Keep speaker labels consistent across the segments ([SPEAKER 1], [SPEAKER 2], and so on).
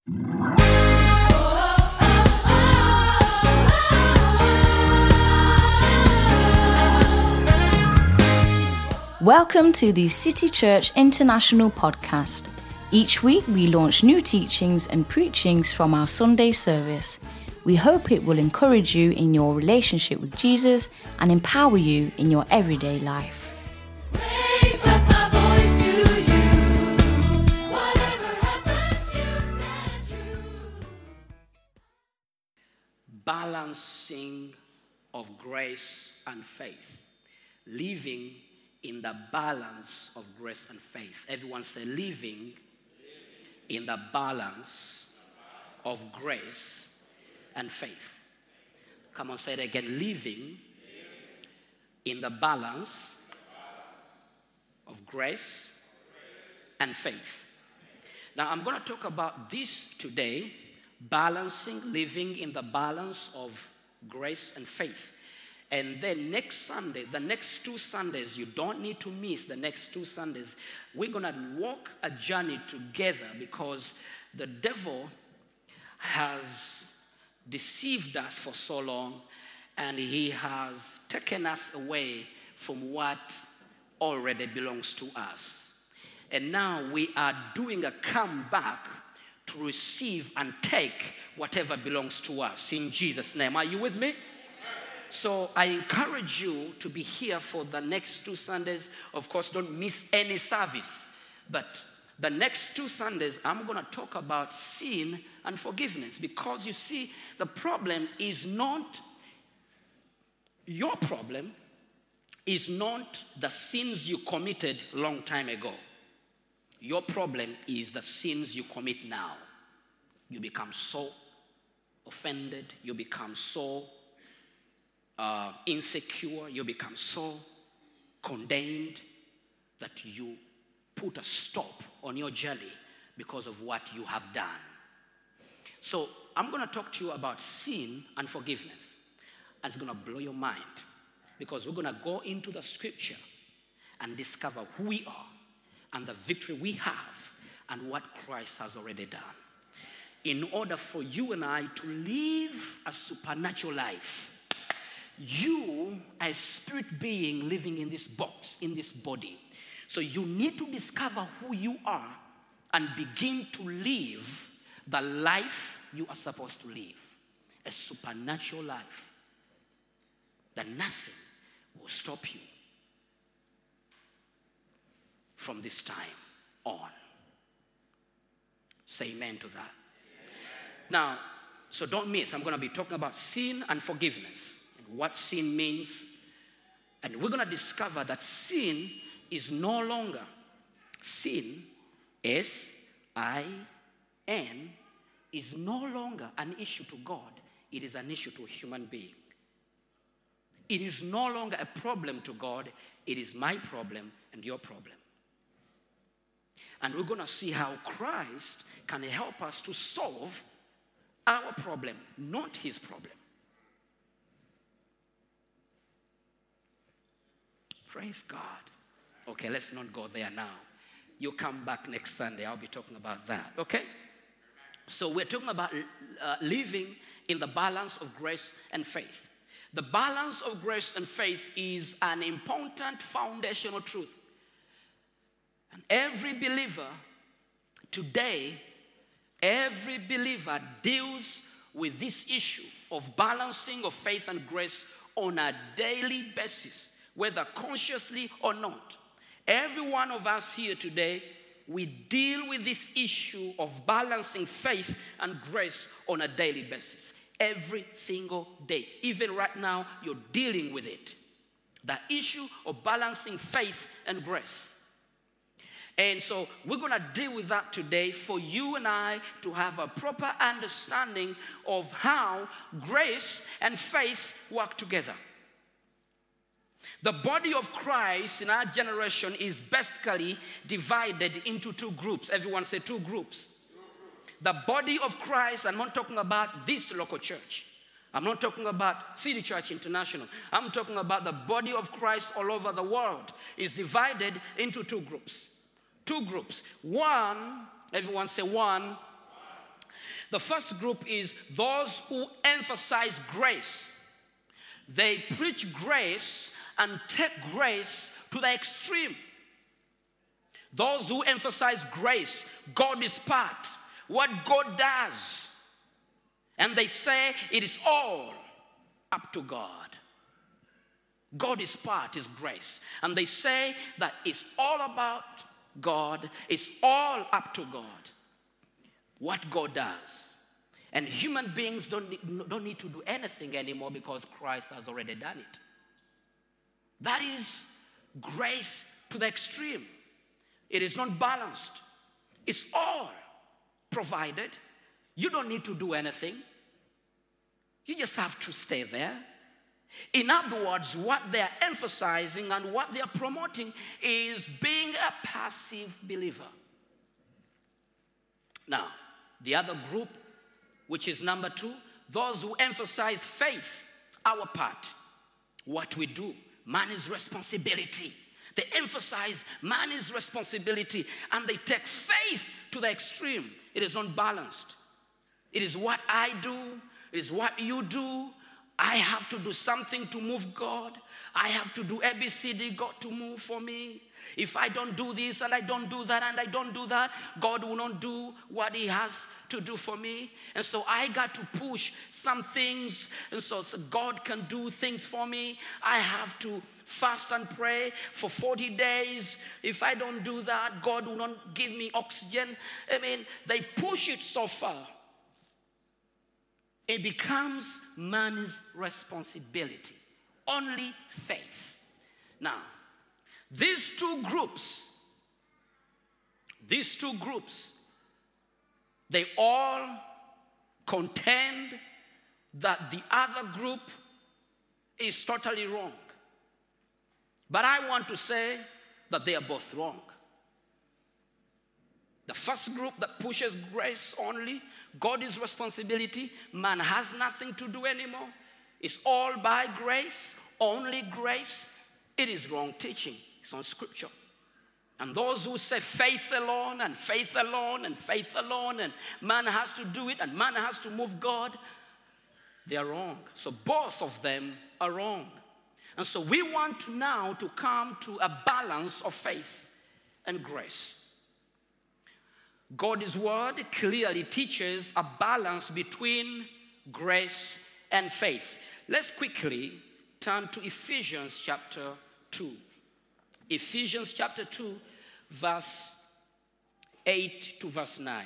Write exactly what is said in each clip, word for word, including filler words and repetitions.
[SPEAKER 1] Welcome to the City Church International podcast. Each week we launch new teachings and preachings from our Sunday service. We hope it will encourage you in your relationship with Jesus and empower you in your everyday life.
[SPEAKER 2] Raise up my voice to you. Whatever happens, you stand true.
[SPEAKER 3] Balancing of grace and faith. Living in the balance of grace and faith. Everyone say, living in the balance of grace and faith. Come on, say it again. Living in the balance of grace and faith. Now, I'm going to talk about this today, balancing, living in the balance of grace and faith. And then next Sunday, the next two Sundays, you don't need to miss the next two Sundays. We're going to walk a journey together because the devil has deceived us for so long and he has taken us away from what already belongs to us. And now we are doing a comeback to receive and take whatever belongs to us in Jesus' name. Are you with me? So I encourage you to be here for the next two Sundays. Of course, don't miss any service. But the next two Sundays, I'm going to talk about sin and forgiveness. Because you see, the problem is not, your problem is not the sins you committed long time ago. Your problem is the sins you commit now. You become so offended. You become so Uh, insecure, you become so condemned that you put a stop on your journey because of what you have done. So I'm going to talk to you about sin and forgiveness. And it's going to blow your mind because we're going to go into the scripture and discover who we are and the victory we have and what Christ has already done. In order for you and I to live a supernatural life, you are a spirit being living in this box, in this body. So you need to discover who you are and begin to live the life you are supposed to live. A supernatural life. That nothing will stop you from this time on. Say amen to that. Amen. Now, so don't miss. I'm going to be talking about sin and forgiveness. What sin means. And we're going to discover that sin is no longer, sin, S I N, is no longer an issue to God. It is an issue to a human being. It is no longer a problem to God. It is my problem and your problem. And we're going to see how Christ can help us to solve our problem, not his problem. Praise God. Okay, let's not go there now. You come back next Sunday. I'll be talking about that. Okay? So we're talking about uh, living in the balance of grace and faith. The balance of grace and faith is an important foundational truth. And every believer today, every believer deals with this issue of balancing of faith and grace on a daily basis, whether consciously or not. Every one of us here today, we deal with this issue of balancing faith and grace on a daily basis. Every single day. Even right now, you're dealing with it. The issue of balancing faith and grace. And so we're going to deal with that today for you and I to have a proper understanding of how grace and faith work together. The body of Christ in our generation is basically divided into two groups. Everyone say two groups. The body of Christ, I'm not talking about this local church. I'm not talking about City Church International. I'm talking about the body of Christ all over the world. Is divided into two groups. Two groups. One, everyone say one, The first group is those who emphasize grace. They preach grace and take grace to the extreme. Those who emphasize grace, God is part, what God does. And they say it is all up to God. God is part, is grace. And they say that it's all about God, it's all up to God. What God does. And human beings don't need, don't need to do anything anymore because Christ has already done it. That is grace to the extreme. It is not balanced. It's all provided. You don't need to do anything. You just have to stay there. In other words, what they are emphasizing and what they are promoting is being a passive believer. Now, the other group, which is number two, those who emphasize faith, our part, what we do, man's responsibility. They emphasize man's responsibility and they take faith to the extreme. It is unbalanced. It is what I do, it is what you do. I have to do something to move God. I have to do A B C D, God to move for me. If I don't do this and I don't do that and I don't do that, God will not do what he has to do for me. And so I got to push some things, and so, so God can do things for me. I have to fast and pray for forty days. If I don't do that, God will not give me oxygen. I mean, they push it so far. It becomes man's responsibility. Only faith. Now, these two groups, these two groups, they all contend that the other group is totally wrong. But I want to say that they are both wrong. The first group that pushes grace only, God's responsibility, man has nothing to do anymore. It's all by grace, only grace. It is wrong teaching. It's not scripture. And those who say faith alone and faith alone and faith alone and man has to do it and man has to move God, they are wrong. So both of them are wrong. And so we want now to come to a balance of faith and grace. God's word clearly teaches a balance between grace and faith. Let's quickly turn to Ephesians chapter two. Ephesians chapter two, verse eight to verse nine.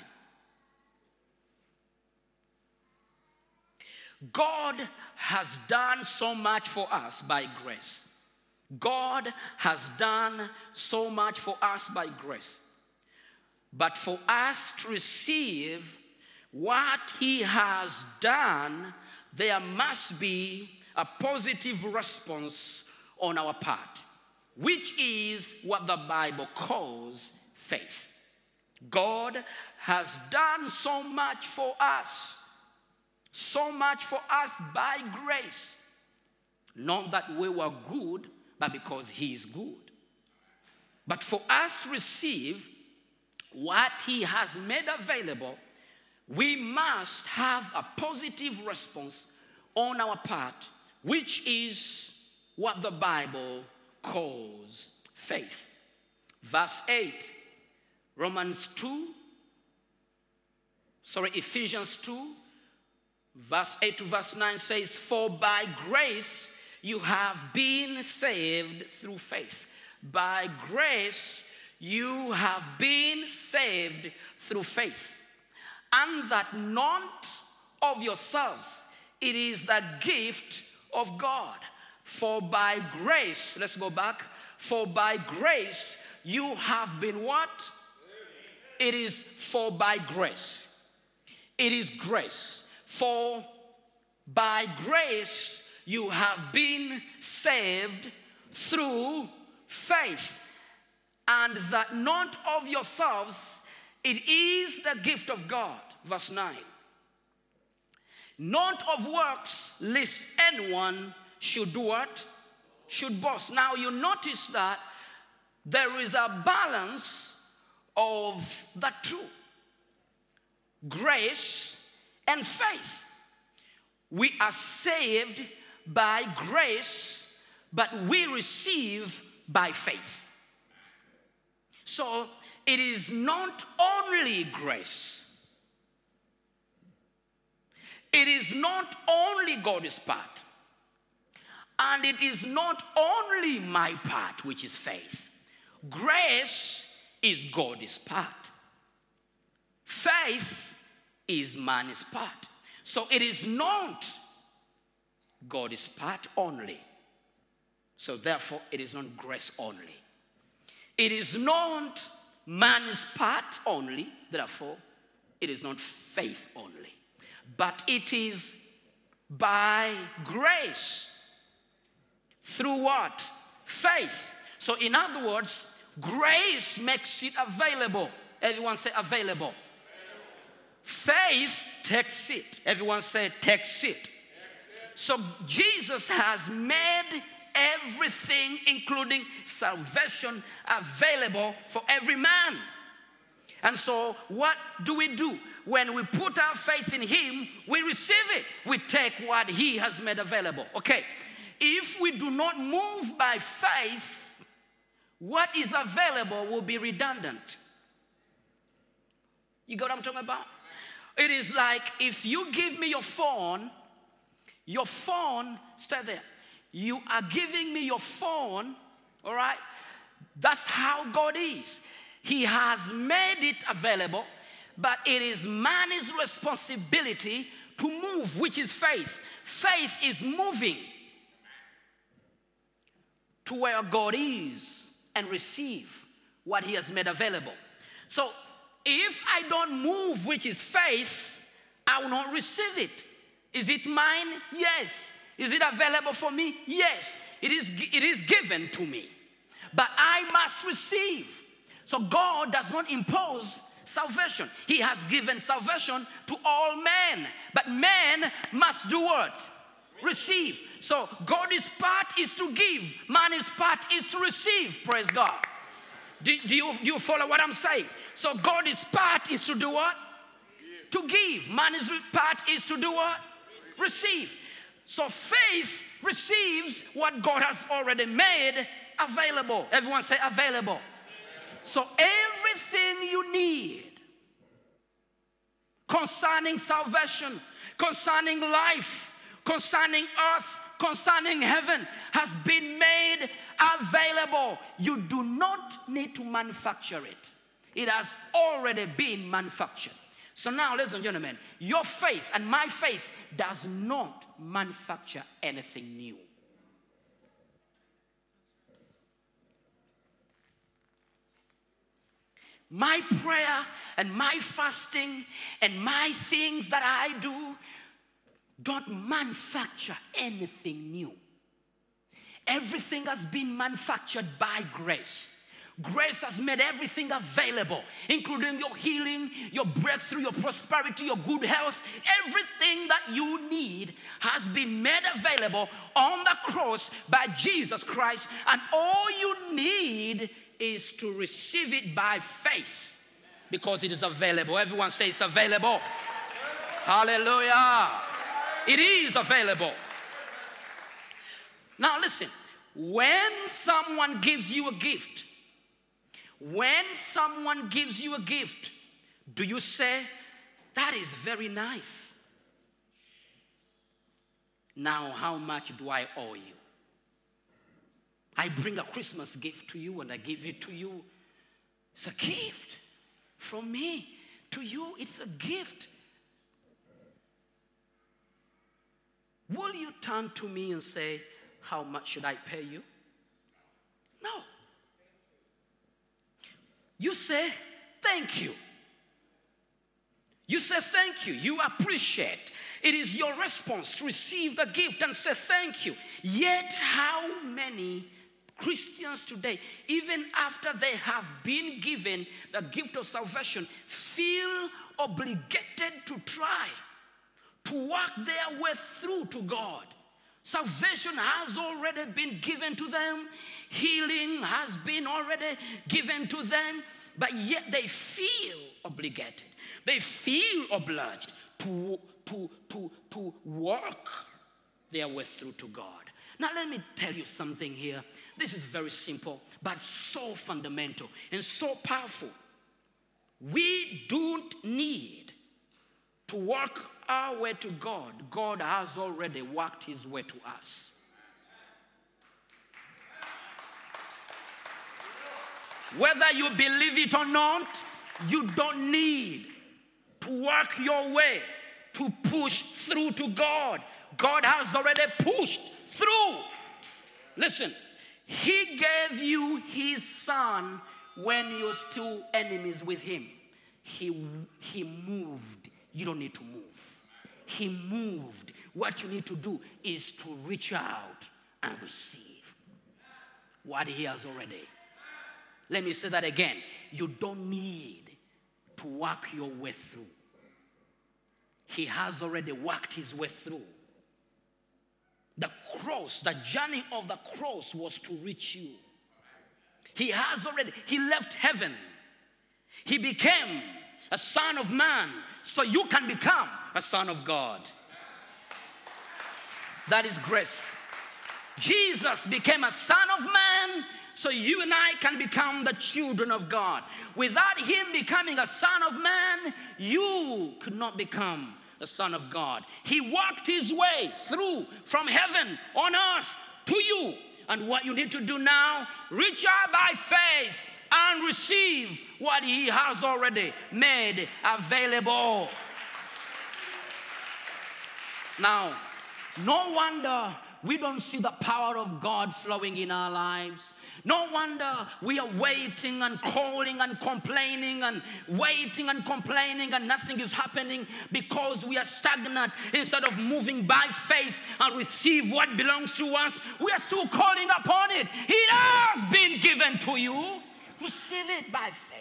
[SPEAKER 3] God has done so much for us by grace. God has done so much for us by grace. But for us to receive what he has done, there must be a positive response on our part, which is what the Bible calls faith. God has done so much for us, so much for us by grace. Not that we were good, but because he is good. But for us to receive what he has made available, we must have a positive response on our part, which is what the Bible calls faith. Verse eight, Romans two, sorry, Ephesians two, verse eight to verse nine says, for by grace you have been saved through faith. By grace you have been saved through faith, and that not of yourselves, it is the gift of God. For by grace, let's go back, for by grace you have been what? It is for by grace. It is grace. For by grace you have been saved through faith. And that not of yourselves, it is the gift of God. Verse nine. Not of works, lest anyone should do what? Should boast. Now you notice that there is a balance of the two. grace and faith. We are saved by grace, but we receive by faith. So it is not only grace. It is not only God's part. And it is not only my part, which is faith. Grace is God's part. Faith is man's part. So it is not God's part only. So therefore, it is not grace only. It is not man's part only. Therefore, it is not faith only. But it is by grace. Through what? Faith. So in other words, grace makes it available. Everyone say available. Faith takes it. Everyone say takes it. So Jesus has made everything, including salvation, available for every man. And so what do we do? When we put our faith in him, we receive it. We take what he has made available. Okay. If we do not move by faith, what is available will be redundant. You got what I'm talking about? It is like if you give me your phone, your phone, stay there. You are giving me your phone, all right? That's how God is. He has made it available, but it is man's responsibility to move, which is faith. Faith is moving to where God is and receive what he has made available. So if I don't move, which is faith, I will not receive it. Is it mine? Yes. Is it available for me? Yes. It is, it is given to me. But I must receive. So God does not impose salvation. He has given salvation to all men. But men must do what? Receive. So God's part is to give. Man's part is to receive. Praise God. Do, do, you, do you follow what I'm saying? So God's part is to do what? To give. Man's part is to do what? Receive. So faith receives what God has already made available. Everyone say available. So everything you need concerning salvation, concerning life, concerning earth, concerning heaven has been made available. You do not need to manufacture it. It has already been manufactured. So now, ladies and gentlemen, your faith and my faith does not manufacture anything new. My prayer and my fasting and my things that I do don't manufacture anything new. Everything has been manufactured by grace. Grace has made everything available, including your healing, your breakthrough, your prosperity, your good health. Everything that you need has been made available on the cross by Jesus Christ. And all you need is to receive it by faith because it is available. Everyone say it's available. Hallelujah. It is available. Now listen, when someone gives you a gift, when someone gives you a gift, do you say, that is very nice? Now, how much do I owe you? I bring a Christmas gift to you and I give it to you. It's a gift from me to you. It's a gift. Will you turn to me and say, how much should I pay you? No. You say, thank you. You say thank you. You appreciate. It is your response to receive the gift and say thank you. Yet how many Christians today, even after they have been given the gift of salvation, feel obligated to try to work their way through to God? Salvation has already been given to them. Healing has been already given to them. But yet they feel obligated. They feel obliged to, to, to, to work their way through to God. Now let me tell you something here. This is very simple, but so fundamental and so powerful. We don't need to work our way to God. God has already worked his way to us. Whether you believe it or not, you don't need to work your way to push through to God. God has already pushed through. Listen, he gave you his son when you're still enemies with him. He, he moved. You don't need to move. He moved. What you need to do is to reach out and receive what he has already. Let me say that again. You don't need to work your way through. He has already worked his way through. The cross, the journey of the cross was to reach you. He has already, he left heaven. He became a son of man so you can become a son of God. That is grace. Jesus became a son of man so you and I can become the children of God. Without him becoming a son of man, you could not become the son of God. He walked his way through from heaven on earth to you. And what you need to do now, reach out by faith and receive what he has already made available. Now, no wonder we don't see the power of God flowing in our lives. No wonder we are waiting and calling and complaining and waiting and complaining and nothing is happening, because we are stagnant. Instead of moving by faith and receive what belongs to us, we are still calling upon it. It has been given to you. Receive it by faith.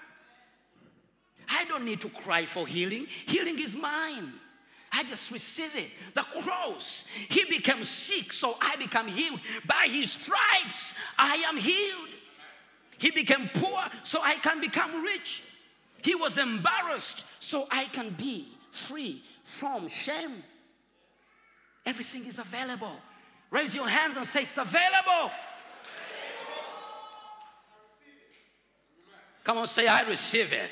[SPEAKER 3] I don't need to cry for healing. Healing is mine. I just receive it. The cross, he became sick so I become healed. By his stripes, I am healed. He became poor so I can become rich. He was embarrassed so I can be free from shame. Everything is available. Raise your hands and say, it's available. Come on, say, I receive it.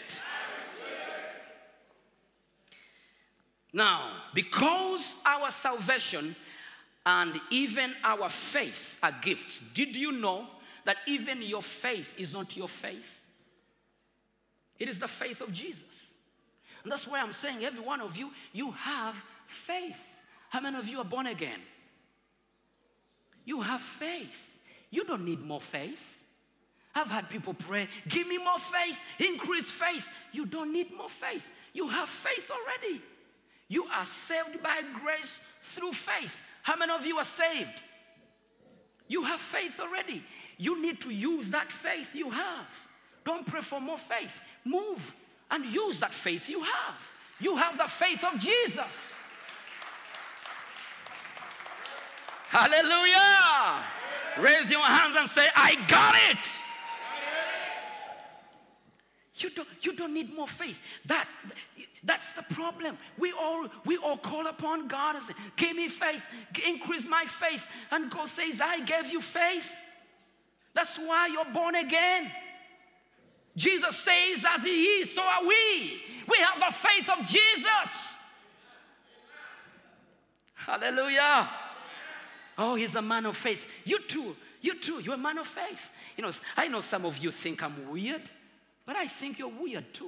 [SPEAKER 3] Now, because our salvation and even our faith are gifts, did you know that even your faith is not your faith? It is the faith of Jesus. And that's why I'm saying every one of you, you have faith. How many of you are born again? You have faith. You don't need more faith. I've had people pray, give me more faith, increase faith. You don't need more faith. You have faith already. You are saved by grace through faith. How many of you are saved? You have faith already. You need to use that faith you have. Don't pray for more faith. Move and use that faith you have. You have the faith of Jesus. Hallelujah. Raise your hands and say, I got it. You don't, you don't need more faith. That, that's the problem. We all, we all call upon God and say, give me faith, increase my faith. And God says, I gave you faith. That's why you're born again. Jesus says, as he is, so are we. We have the faith of Jesus. Hallelujah. Oh, he's a man of faith. You too, you too, you're a man of faith. You know, I know some of you think I'm weird, but I think you're weird too.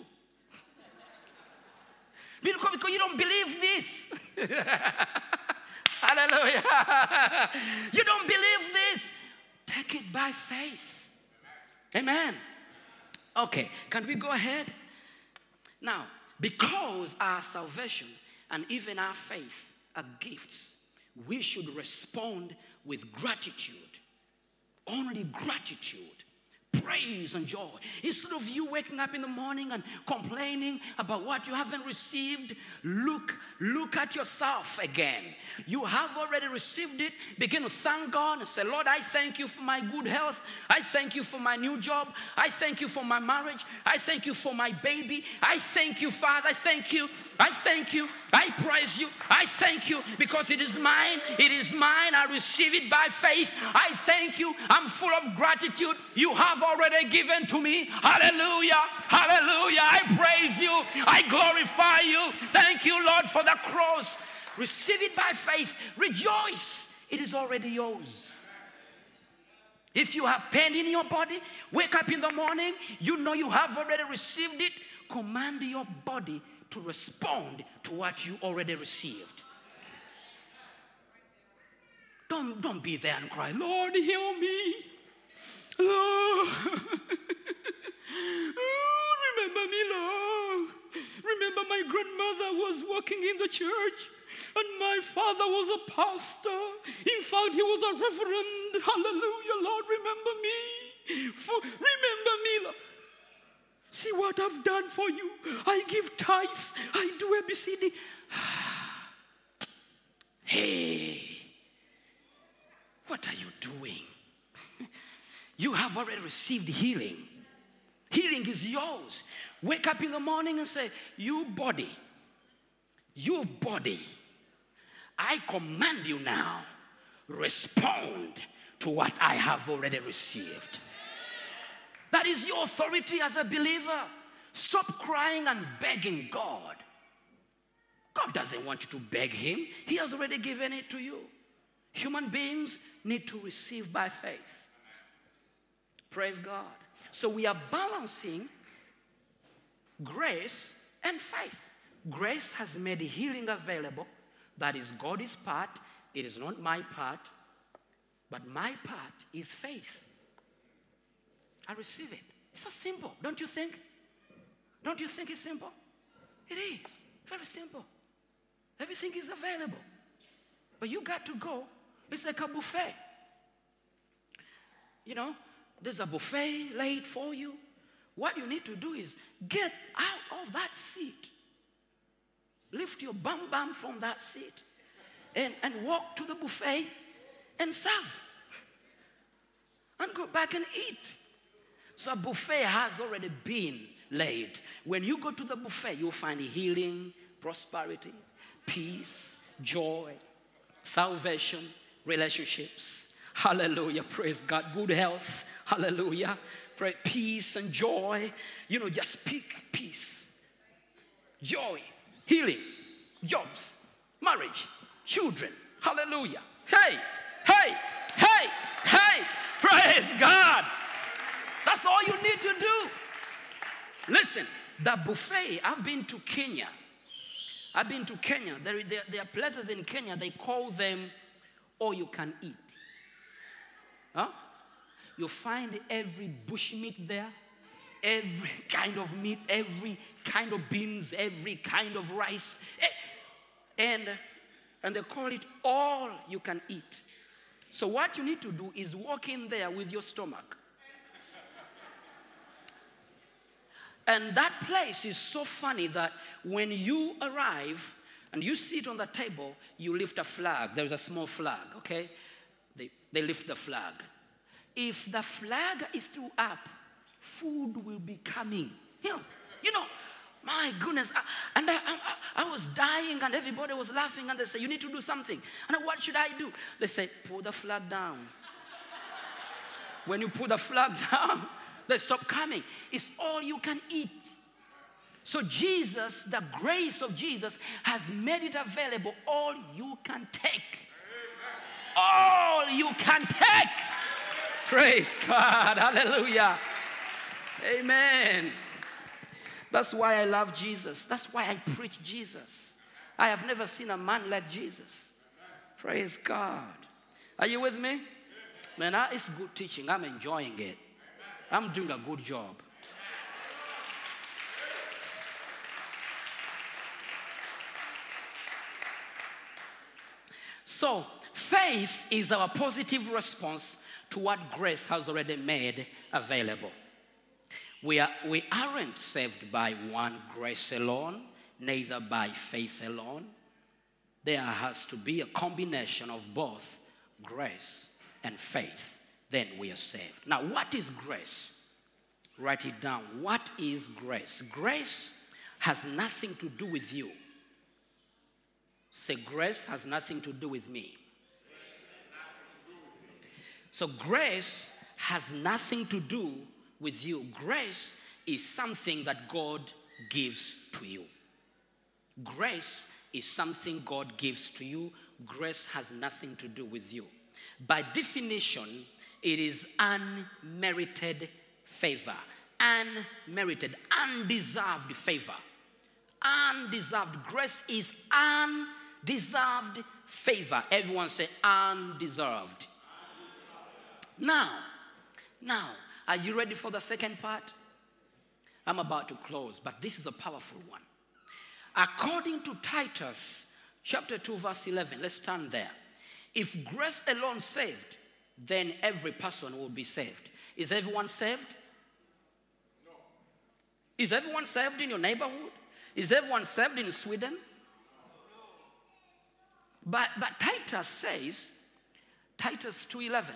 [SPEAKER 3] Because, because you don't believe this. Hallelujah. You don't believe this. Take it by faith. Amen. Okay, can we go ahead? Now, because our salvation and even our faith are gifts, we should respond with gratitude. Only gratitude praise and joy. Instead of you waking up in the morning and complaining about what you haven't received, look, look at yourself again. You have already received it. Begin to thank God and say, Lord, I thank you for my good health. I thank you for my new job. I thank you for my marriage. I thank you for my baby. I thank you, Father. I thank you. I thank you. I praise you. I thank you because it is mine. It is mine. I receive it by faith. I thank you. I'm full of gratitude. You have already given to me. Hallelujah. Hallelujah. I praise you. I glorify you. Thank you, Lord, for the cross. Receive it by faith. Rejoice. It is already yours. If you have pain in your body, wake up in the morning, you know you have already received it. Command your body to respond to what you already received. Don't, don't be there and cry, Lord, heal me. Lord, oh, remember me, Lord. Remember my grandmother was working in the church and my father was a pastor. In fact, he was a reverend. Hallelujah, Lord, remember me. For, remember me, Lord. See what I've done for you. I give tithes. I do A B C D. Hey, what are you doing? You have already received healing. Healing is yours. Wake up in the morning and say, you body, you body, I command you now, respond to what I have already received. That is your authority as a believer. Stop crying and begging God. God doesn't want you to beg him. He has already given it to you. Human beings need to receive by faith. Praise God. So we are balancing grace and faith. Grace has made healing available. That is God's part. It is not my part. But my part is faith. I receive it. It's so simple, don't you think? Don't you think it's simple? It is. Very simple. Everything is available. But you got to go. It's like a buffet. You know, there's a buffet laid for you. What you need to do is get out of that seat. Lift your bum bum from that seat and, and walk to the buffet and serve. And go back and eat. So a buffet has already been laid. When you go to the buffet, you'll find healing, prosperity, peace, joy, salvation, relationships. Hallelujah. Praise God. Good health. Hallelujah. Pray, peace and joy. You know, just speak peace, joy, healing, jobs, marriage, children. Hallelujah. Hey, hey, hey, hey. Praise God. That's all you need to do. Listen, the buffet, I've been to Kenya. I've been to Kenya. There, there, there are places in Kenya, they call them all you can eat. Huh? You find every bush meat there, every kind of meat, every kind of beans, every kind of rice. And, and they call it all you can eat. So what you need to do is walk in there with your stomach. And that place is so funny that when you arrive and you sit on the table, you lift a flag. There's a small flag, okay? They, they lift the flag. If the flag is still up, food will be coming. You know, you know my goodness. I, and I, I, I was dying and everybody was laughing and they say, you need to do something. And I, what should I do? They say, pull the flag down. When you put the flag down, they stop coming. It's all you can eat. So Jesus, the grace of Jesus has made it available. All you can take. All you can take. Praise God. Hallelujah. Amen. That's why I love Jesus. That's why I preach Jesus. I have never seen a man like Jesus. Praise God. Are you with me? Man, it's good teaching. I'm enjoying it. I'm doing a good job. So, faith is our positive response to what grace has already made available. We, are, we aren't saved by one grace alone, neither by faith alone. There has to be a combination of both grace and faith. Then we are saved. Now, what is grace? Write it down. What is grace? Grace has nothing to do with you. Say, grace has nothing to do with me. So grace has nothing to do with you. Grace is something that God gives to you. Grace is something God gives to you. Grace has nothing to do with you. By definition, it is unmerited favor. Unmerited, undeserved favor. Undeserved. Grace is undeserved favor. Everyone say undeserved. Now, now, are you ready for the second part? I'm about to close, but this is a powerful one. According to Titus chapter two, verse eleven, let's turn there. If grace alone saved, then every person will be saved. Is everyone saved? No. Is everyone saved in your neighborhood? Is everyone saved in Sweden? No. But, but Titus says, Titus two eleven,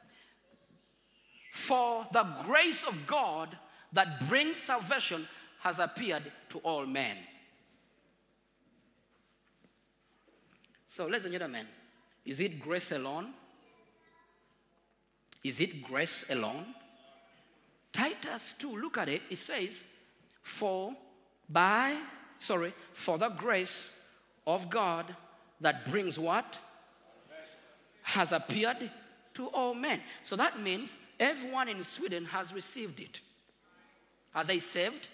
[SPEAKER 3] for the grace of God that brings salvation has appeared to all men. So, ladies and gentlemen, is it grace alone? Is it grace alone? Titus two, look at it. It says, for by, sorry, for the grace of God that brings what? Has appeared to all men. So that means everyone in Sweden has received it. Are they saved?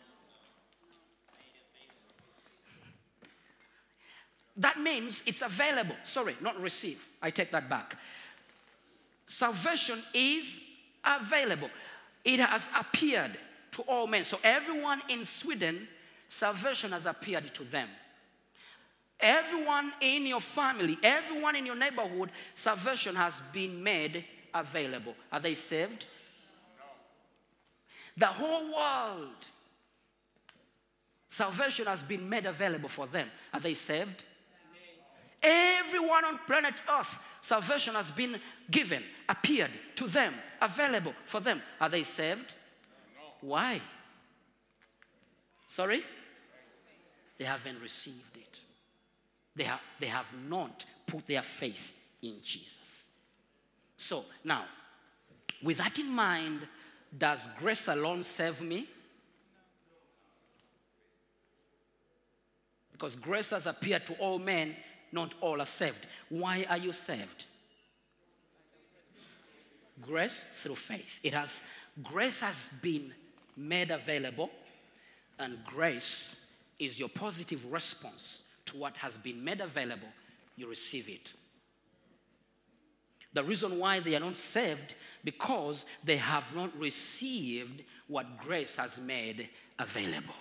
[SPEAKER 3] That means it's available. Sorry, not receive. I take that back. Salvation is available. It has appeared to all men. So everyone in Sweden, salvation has appeared to them. Everyone in your family, everyone in your neighborhood, salvation has been made available. Are they saved? The whole world, salvation has been made available for them. Are they saved? Everyone on planet Earth, salvation has been given, appeared to them, available for them. Are they saved? No. Why? Sorry? They haven't received it. They have, they have not put their faith in Jesus. So now, with that in mind, does grace alone save me? Because grace has appeared to all men, not all are saved. Why are you saved? Grace through faith. It has, grace has been made available, and grace is your positive response to what has been made available. You receive it. The reason why they are not saved, because they have not received what grace has made available.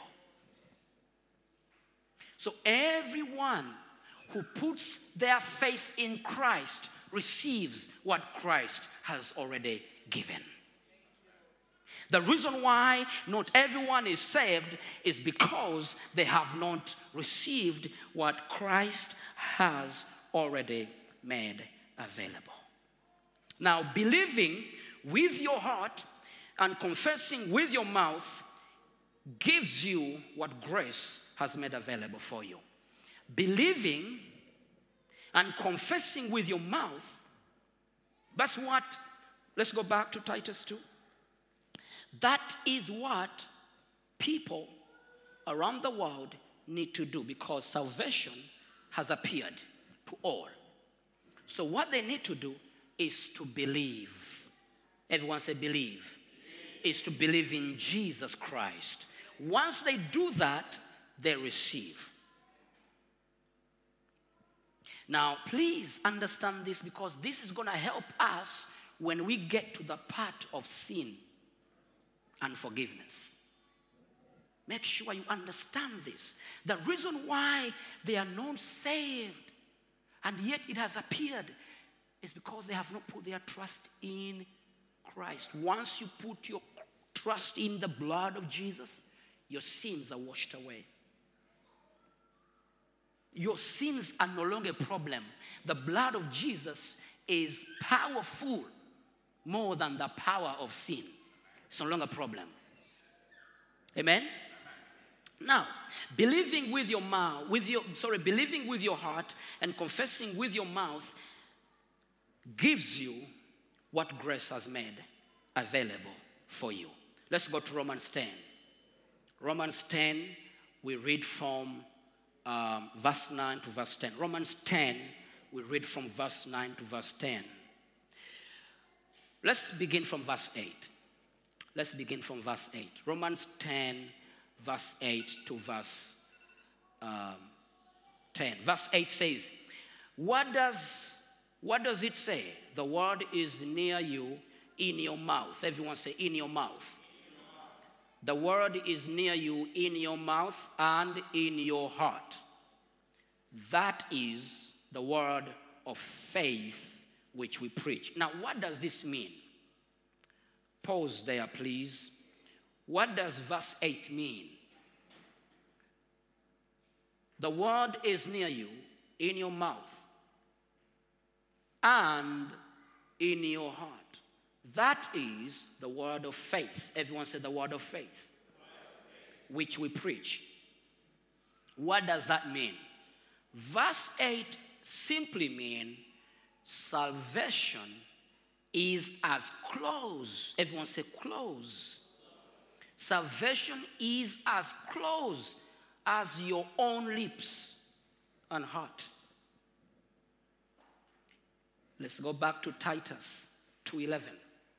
[SPEAKER 3] So everyone who puts their faith in Christ receives what Christ has already given. The reason why not everyone is saved is because they have not received what Christ has already made available. Now, believing with your heart and confessing with your mouth gives you what grace has made available for you. Believing and confessing with your mouth, that's what, let's go back to Titus two. That is what people around the world need to do, because salvation has appeared to all. So what they need to do is to believe. Everyone say believe. Is to believe in Jesus Christ. Once they do that, they receive. Now, please understand this, because this is going to help us when we get to the part of sin and forgiveness. Make sure you understand this. The reason why they are not saved, and yet it has appeared It's because they have not put their trust in Christ. Once you put your trust in the blood of Jesus, your sins are washed away. Your sins are no longer a problem. The blood of Jesus is powerful more than the power of sin. It's no longer a problem. Amen? Now, believing with your mouth, with your sorry, believing with your heart and confessing with your mouth gives you what grace has made available for you. Let's go to Romans ten. Romans ten, we read from um, verse nine to verse ten. Romans ten, we read from verse nine to verse ten. Let's begin from verse eight. Let's begin from verse eight. Romans ten, verse eight to verse um, ten. Verse eight says, what does, what does it say? The word is near you, in your mouth. Everyone say, in your mouth. The word is near you, in your mouth and in your heart. That is the word of faith which we preach. Now, what does this mean? Pause there, please. What does verse eight mean? The word is near you, in your mouth and in your heart. That is the word of faith. Everyone said the word of faith, which we preach. What does that mean? Verse eight simply means salvation is as close. Everyone say close. Salvation is as close as your own lips and heart. Let's go back to Titus two eleven.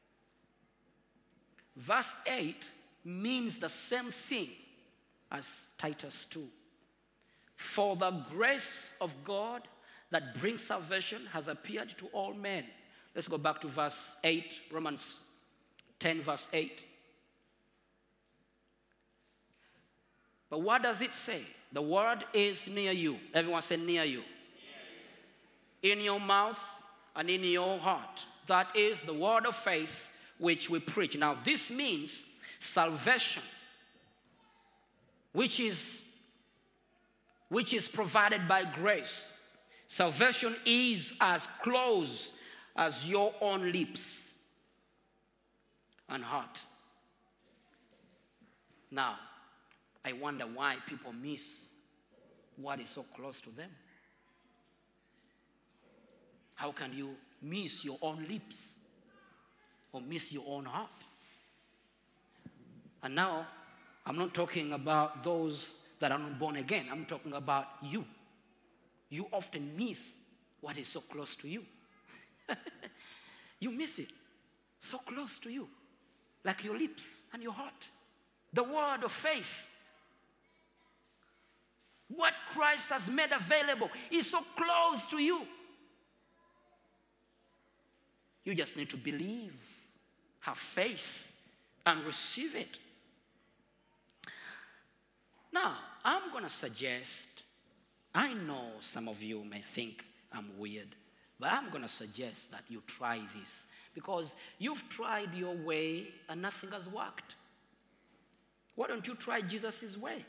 [SPEAKER 3] Verse eight means the same thing as Titus two. For the grace of God that brings salvation has appeared to all men. Let's go back to verse eight, Romans ten, verse eight. But what does it say? The word is near you. Everyone say near you. Near you. In your mouth and in your heart. That is the word of faith which we preach. Now this means salvation, which is, which is provided by grace. Salvation is as close as your own lips and heart. Now, I wonder why people miss what is so close to them. How can you miss your own lips or miss your own heart? And now, I'm not talking about those that are not born again. I'm talking about you. You often miss what is so close to you. You miss it. So close to you. Like your lips and your heart. The word of faith. What Christ has made available is so close to you. You just need to believe, have faith, and receive it. Now, I'm going to suggest, I know some of you may think I'm weird, but I'm going to suggest that you try this because you've tried your way and nothing has worked. Why don't you try Jesus' way?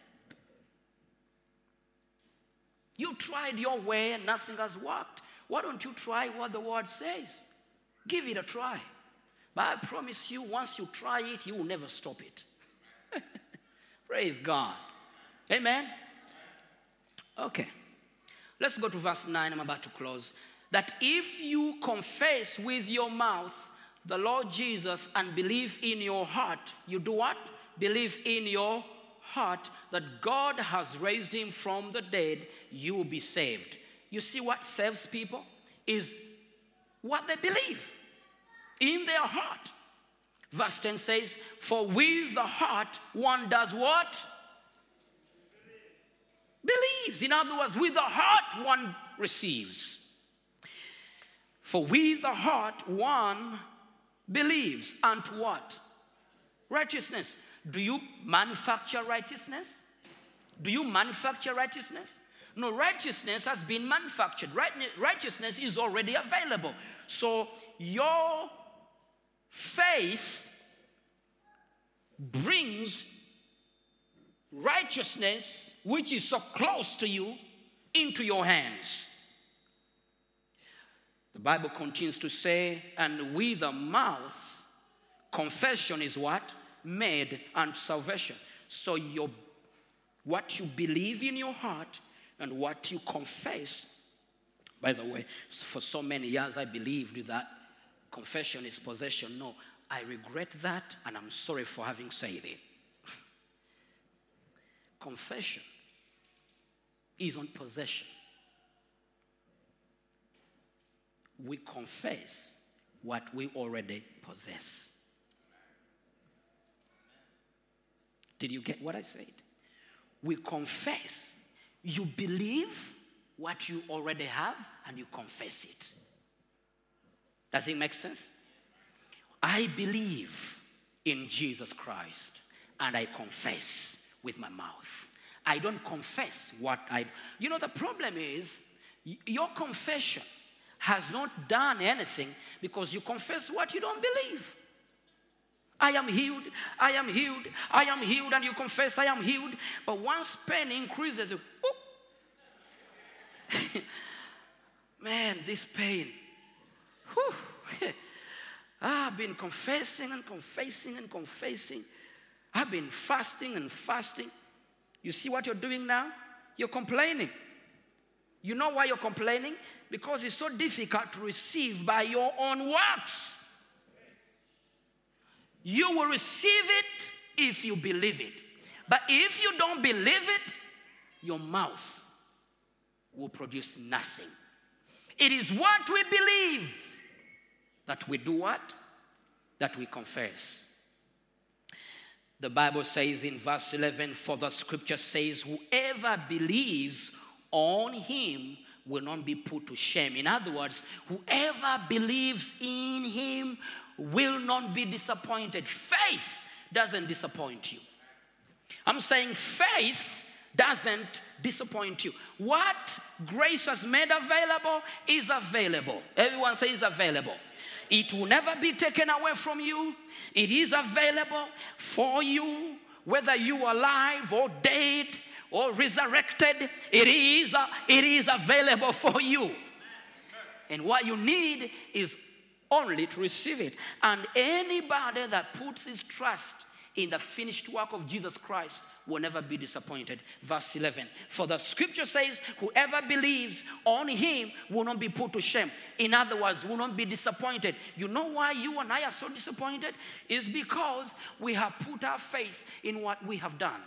[SPEAKER 3] You tried your way and nothing has worked. Why don't you try what the word says? Give it a try. But I promise you, once you try it, you will never stop it. Praise God. Amen? Okay. Let's go to verse nine. I'm about to close. That if you confess with your mouth the Lord Jesus and believe in your heart, you do what? Believe in your heart that God has raised him from the dead, you will be saved. You see what saves people is what they believe in their heart. Verse ten says, for with the heart one does what? Believes. In other words, with the heart one receives. For with the heart one believes unto what? Righteousness. Do you manufacture righteousness? Do you manufacture righteousness? No, righteousness has been manufactured. Right, righteousness is already available. So your faith brings righteousness, which is so close to you, into your hands. The Bible continues to say, and with the mouth, confession is what? Made unto salvation. So your, what you believe in your heart and what you confess. By the way, for so many years I believed that confession is possession. No, I regret that and I'm sorry for having said it. Confession is on possession. We confess what we already possess. Did you get what I said? We confess. You believe what you already have and you confess it. Does it make sense? I believe in Jesus Christ and I confess with my mouth. I don't confess what I... You know, the problem is y- your confession has not done anything because you confess what you don't believe. I am healed, I am healed, I am healed, and you confess I am healed. But once pain increases, you, man, this pain. Whew. I've been confessing and confessing and confessing. I've been fasting and fasting. You see what you're doing now? You're complaining. You know why you're complaining? Because it's so difficult to receive by your own works. You will receive it if you believe it. But if you don't believe it, your mouth will produce nothing. It is what we believe that we do what? That we confess. The Bible says in verse eleven, for the scripture says, whoever believes on him will not be put to shame. In other words, whoever believes in him will not be disappointed. Faith doesn't disappoint you. I'm saying faith doesn't disappoint you. What grace has made available is available. Everyone says available. It will never be taken away from you. It is available for you, whether you are alive or dead or resurrected. It is, uh, it is available for you. And what you need is only to receive it. And anybody that puts his trust in the finished work of Jesus Christ will never be disappointed. Verse eleven, for the scripture says, whoever believes on him will not be put to shame. In other words, will not be disappointed. You know why you and I are so disappointed? It's because we have put our faith in what we have done.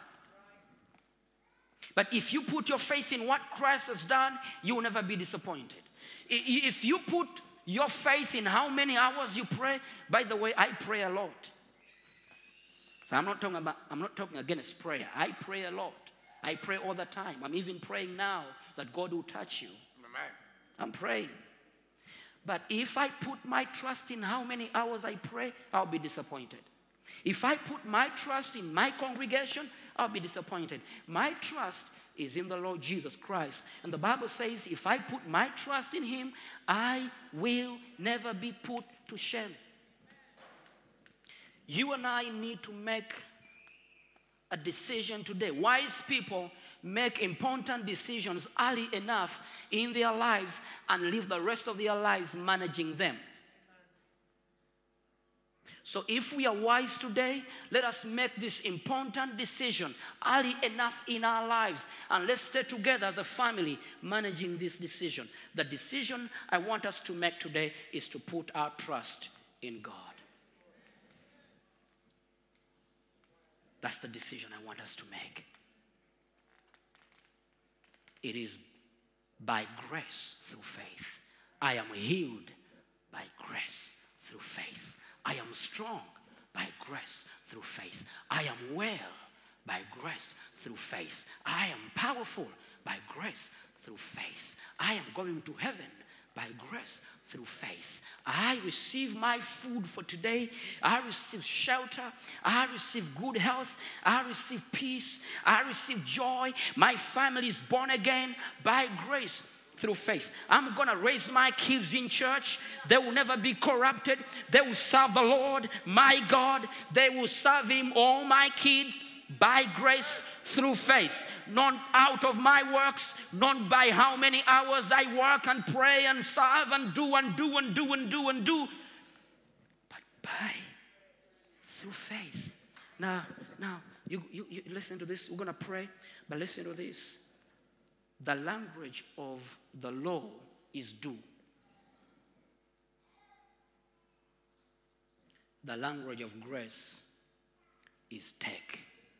[SPEAKER 3] But if you put your faith in what Christ has done, you will never be disappointed. I- If you put your faith in how many hours you pray, by the way, I pray a lot. So I'm not talking about, I'm not talking against prayer. I pray a lot. I pray all the time. I'm even praying now that God will touch you. Amen. I'm praying. But if I put my trust in how many hours I pray, I'll be disappointed. If I put my trust in my congregation, I'll be disappointed. My trust is in the Lord Jesus Christ. And the Bible says, if I put my trust in him, I will never be put to shame. You and I need to make a decision today. Wise people make important decisions early enough in their lives and live the rest of their lives managing them. So if we are wise today, let us make this important decision early enough in our lives. And let's stay together as a family managing this decision. The decision I want us to make today is to put our trust in God. That's the decision I want us to make. It is by grace through faith. I am healed by grace through faith. I am strong by grace through faith. I am well by grace through faith. I am powerful by grace through faith. I am going to heaven By grace, through faith. I receive my food for today. I receive shelter. I receive good health. I receive peace. I receive joy. My family is born again by grace through faith. I'm going to raise my kids in church. They will never be corrupted. They will serve the Lord, my God. They will serve Him, all my kids, by grace through faith. Not out of my works, not by how many hours I work and pray and serve and do and do and do and do and do, but by through faith. Now, now, you, you, you listen to this. We're going to pray, but listen to this. The language of the law is do. The language of grace is take.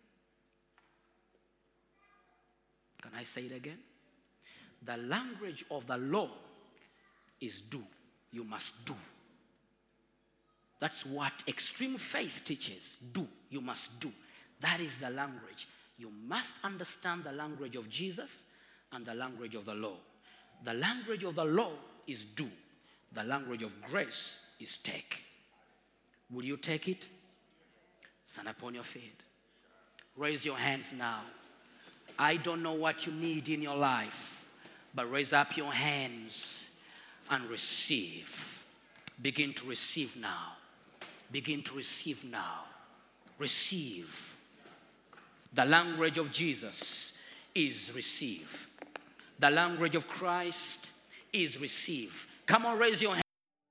[SPEAKER 3] Can I say it again? The language of the law is do. You must do. That's what extreme faith teaches. Do. You must do. That is the language. You must understand the language of Jesus and the language of the law. The language of the law is do. The language of grace is take. Will you take it? Stand upon your feet. Raise your hands now. I don't know what you need in your life, but raise up your hands and receive. Begin to receive now. Begin to receive now. Receive. The language of Jesus is receive. The language of Christ is receive. Come on, raise your hand.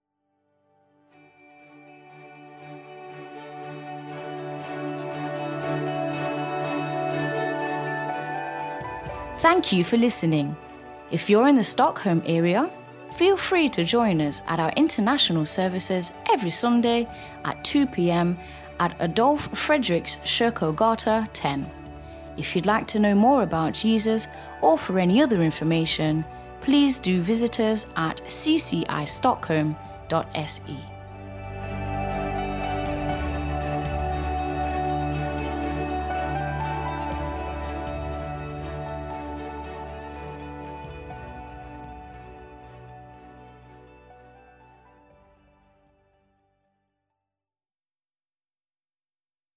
[SPEAKER 1] Thank you for listening. If you're in the Stockholm area, feel free to join us at our international services every Sunday at two p.m. at Adolf Fredriks Kyrkogata ten. If you'd like to know more about Jesus or for any other information, please do visit us at c c i stockholm dot s e.